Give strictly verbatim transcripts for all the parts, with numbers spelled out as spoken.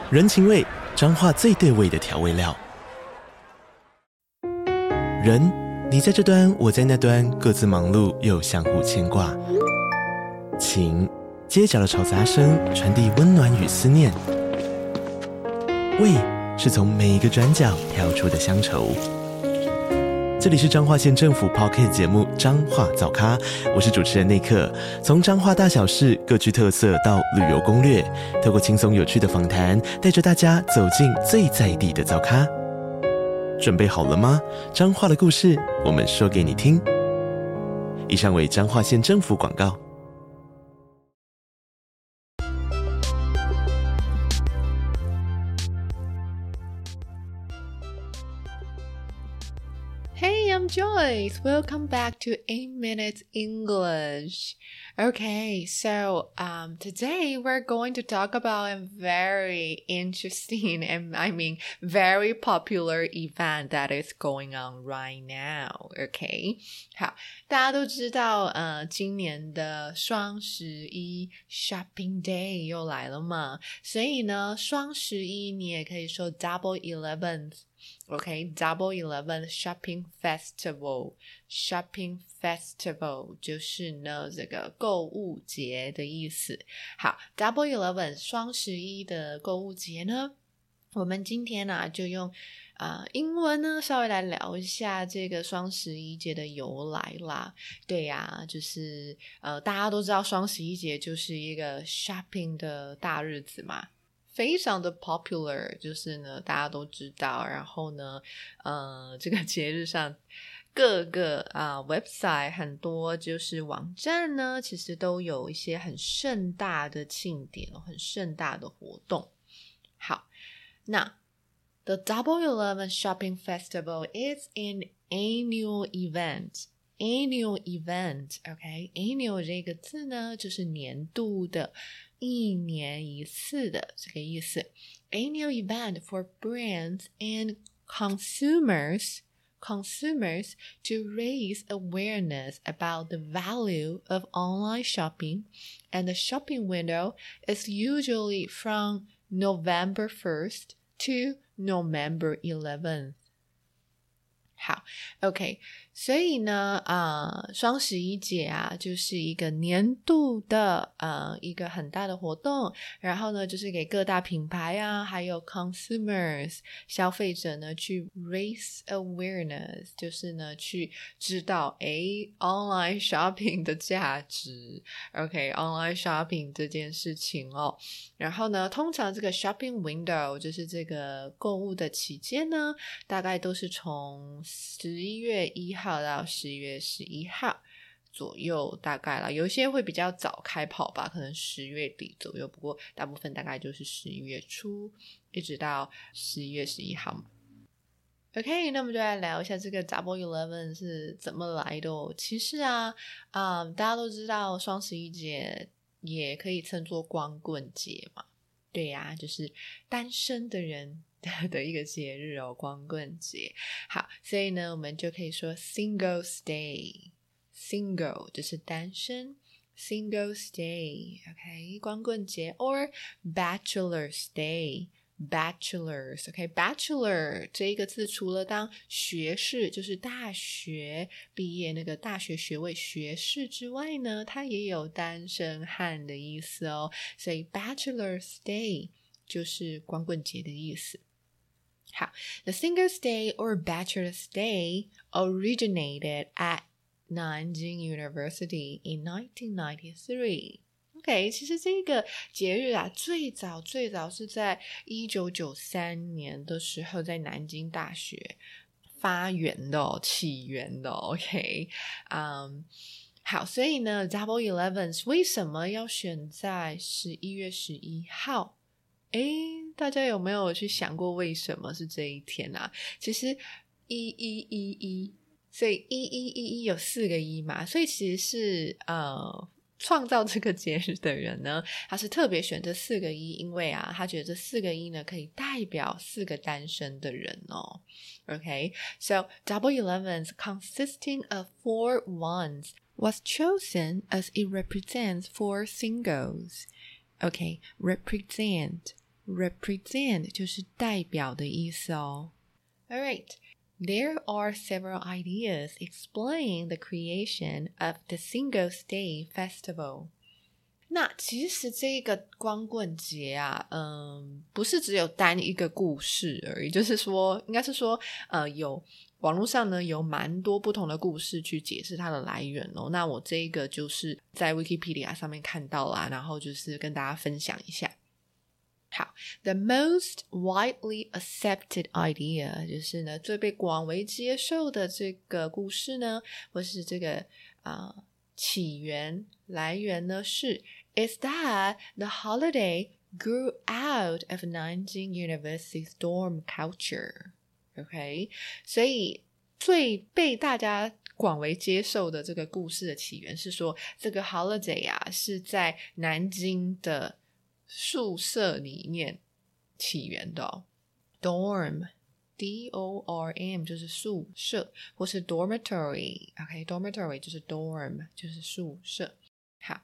人情味，彰化最對味的調味料。人，你在這端，我在那端，各自忙碌又相互牽掛。情，街角的吵雜聲傳遞溫暖與思念。味，是從每一個轉角跳出的鄉愁。這裡是彰化縣政府 Podcast 節目《彰化早咖》，我是主持人內克。從彰化大小事各具特色到旅遊攻略，透過輕鬆有趣的訪談，帶着大家走進最在地的早咖。準備好了嗎？彰化的故事，我們說給你聽。以上為彰化縣政府廣告。 Hey, I'm Joyce. Welcome back to eight minutes English. Okay, so um, today we're going to talk about a very interesting and I mean very popular event that is going on right now. Okay, 好，大家都知道，呃，今年的雙十一 Shopping Day 又來了嘛，所以呢，雙十一你也可以說 Double Eleven。Okay, Double Eleven Shopping Festival. Shopping Festival 就是呢這個購物節的意思。好 ，Double Eleven 雙十一的購物節呢，我們今天呢、啊、就用呃英文呢稍微來聊一下這個雙十一節的由來啦。對呀、啊，就是呃大家都知道雙十一節就是一個 shopping 的大日子嘛。非常的 popular， 就是呢大家都知道，然後呢呃這個節日上各個啊、呃、website 很多就是網站呢其實都有一些很盛大的慶典，很盛大的活動。好，那 The Double Eleven Shopping Festival is an annual event. Annual event, okay? Annual 這個字呢就是年度的，一年一次的這個意思。Annual event for brands and consumers consumers to raise awareness about the value of online shopping, and the shopping window is usually from November first to November eleventh. 好 ，OK， 所以呢，呃，雙十一節啊，就是一個年度的呃一個很大的活動，然後呢，就是給各大品牌啊，還有 consumers 消費者呢，去 raise awareness， 就是呢，去知道誒 online shopping 的價值 ，OK，online shopping 這件事情哦。然後呢，通常這個 shopping window 就是這個購物的期間呢，大概都是從十一月一號到十一月十一號左右，大概啦，有些會比較早開跑吧，可能十月底左右，不過大部分大概就是十一月初一直到十一月十一號嘛。OK， 那我們就來聊一下這個 Double Eleven 是怎麼來的哦。其實啊，嗯，大家都知道雙十一節也可以稱作光棍節嘛，對呀、啊，就是單身的人的一個節日哦，光棍節。好，所以呢，我們就可以說 Singles Day。Single 就是單身 ，Singles Day，OK， 光棍節 or Bachelor's Day。Bachelors，OK，Bachelor、okay? 這一個字除了當學士，就是大學畢業那個大學學位學士之外呢，它也有單身漢的意思哦。所以 Bachelor's Day 就是光棍節的意思。好 ，The Singles Day or Bachelor's Day originated at Nanjing University in nineteen ninety-three。OK， 其實這個節日啊，最早最早是在一九九三年的時候，在南京大學發源的哦，起源的哦。OK， 嗯、um, ，好，所以呢 ，Double Eleven 為什麼要選在十一月十一號？誒，大家有沒有去想過為什麼是這一天啊？其實一一一一，所以一一一一有四個一嘛，所以其實是呃。創造這個節日的人呢，他是特別選這四個一，因為啊，他覺得這四個一呢可以代表四個單身的人哦。Okay, so Double Elevens consisting of four ones was chosen as it represents four singles. Okay, represent represent 就是代表的意思哦。Alright, there are several ideas explaining the creation of the Singles' Day Festival. 那其實這個光棍節啊，嗯，不是只有單一個故事而已，就是說，應該是說，呃，有網絡上呢有蠻多不同的故事去解釋它的來源哦。那我這一個就是在 Wikipedia 上面看到啦，然後就是跟大家分享一下。好 The most widely accepted idea 就是呢最被廣為接受的這個故事呢，或是這個呃起源來源呢是 is that the holiday grew out of Nanjing University's dorm culture. OK, 所以最被大家廣為接受的這個故事的起源是說，這個 holiday 啊是在南京的宿舍裡面起源的哦。dorm D O R M 就是宿舍，或是 dormitory OK dormitory 就是 dorm 就是宿舍。好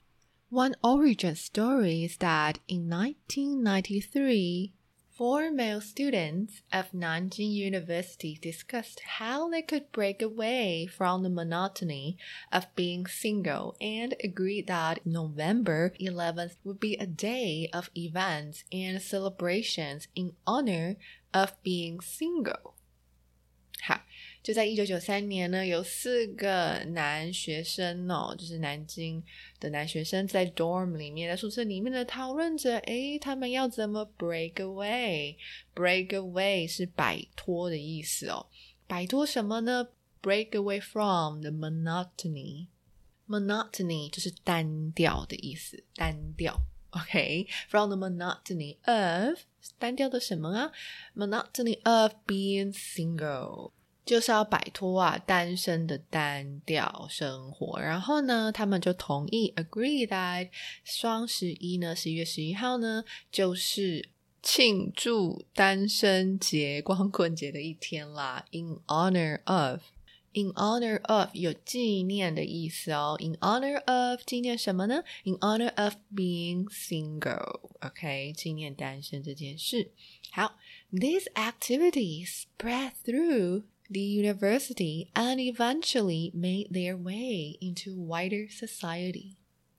One origin story is that in nineteen ninety-three four male students of Nanjing University discussed how they could break away from the monotony of being single and agreed that November eleventh would be a day of events and celebrations in honor of being single. 好，就在一九九三年呢，有四個男學生哦，就是南京的男學生在 dorm 裡面，在宿舍裡面呢討論着，誒，他們要怎麼 break away？ break away 是擺脫的意思哦，擺脫什麼呢？ break away from the monotony. Monotony 就是單調的意思，單調。OK, from the monotony of 單調的什麼啊 monotony of being single 就是要擺脫啊單身的單調生活。然後呢他們就同意 agree that 雙十一呢十一月十一號呢就是慶祝單身節光棍節的一天啦。 in honor of In honor of 有紀念的意思哦。 In honor of 紀念什麼呢？ In honor of being single OK 紀念單身這件事。好 These activities spread through the university and eventually made their way into wider society.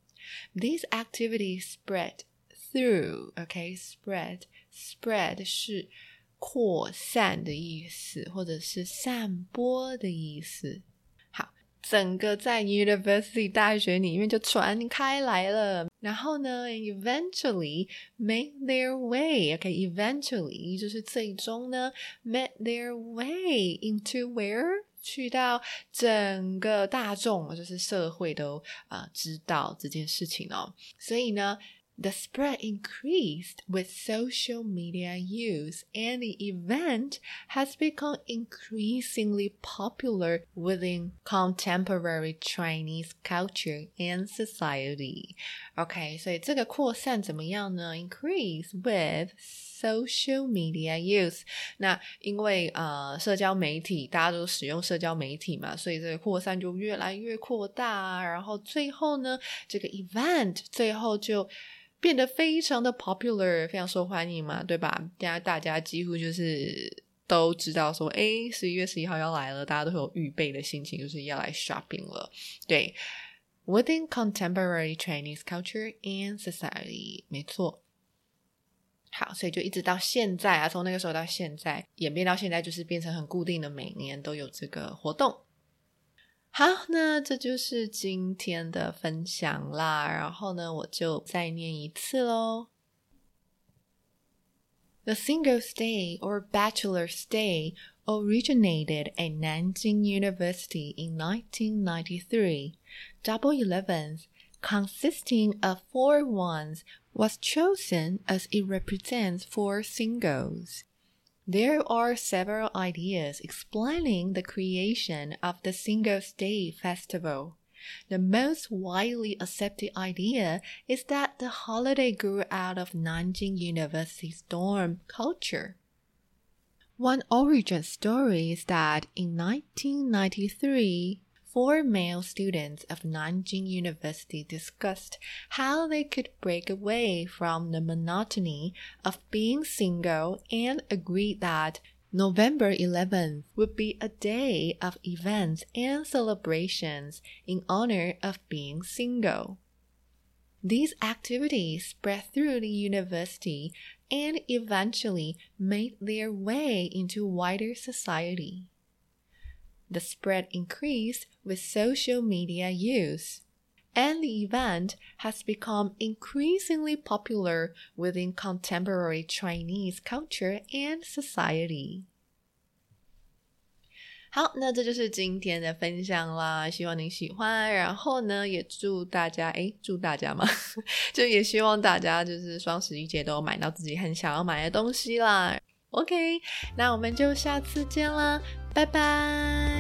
These activities spread through OK spread spread 是擴散的意思，或者是散播的意思。好，整個在 University 大學裡面就傳開來了。然後呢 eventually made their way OK eventually 就是最終呢 made their way into where 去到整個大眾就是社會都、呃、知道這件事情哦。所以呢The spread increased with social media use, and the event has become increasingly popular within contemporary Chinese culture and society. OK, 所以這個擴散怎麼樣呢？ Increase with social media use. 那因為呃社交媒體大家都使用社交媒體嘛，所以這個擴散就越來越擴大啊。然後最後呢，這個 event 最後就變得非常的 popular 非常受歡迎嘛，對吧？現在大家幾乎就是都知道說誒十一月十一號要來了，大家都會有預備的心情，就是要來 shopping 了。對 Within contemporary Chinese culture and society 沒錯。好，所以就一直到現在啊，從那個時候到現在演變到現在，就是變成很固定的每年都有這個活動。好，那這就是今天的分享啦，然後呢我就再念一次咯。The Singles' Day or Bachelor's Day originated at Nanjing University in nineteen ninety-three. Double Eleventh, consisting of four ones, was chosen as it represents four singles. There are several ideas explaining the creation of the Singles' Day Festival. The most widely accepted idea is that the holiday grew out of Nanjing University's dorm culture. One origin story is that in nineteen ninety-three, four male students of Nanjing University discussed how they could break away from the monotony of being single and agreed that November eleventh would be a day of events and celebrations in honor of being single. These activities spread through the university and eventually made their way into wider society. The spread increased with social media use, and the event has become increasingly popular within contemporary Chinese culture and society. 好，那这就是今天的分享啦，希望你喜歡。然後呢，也祝大家，誒，祝大家嘛，就也希望大家就是雙十一節都買到自己很想要買的東西啦。OK， 那我們就下次見啦，拜拜。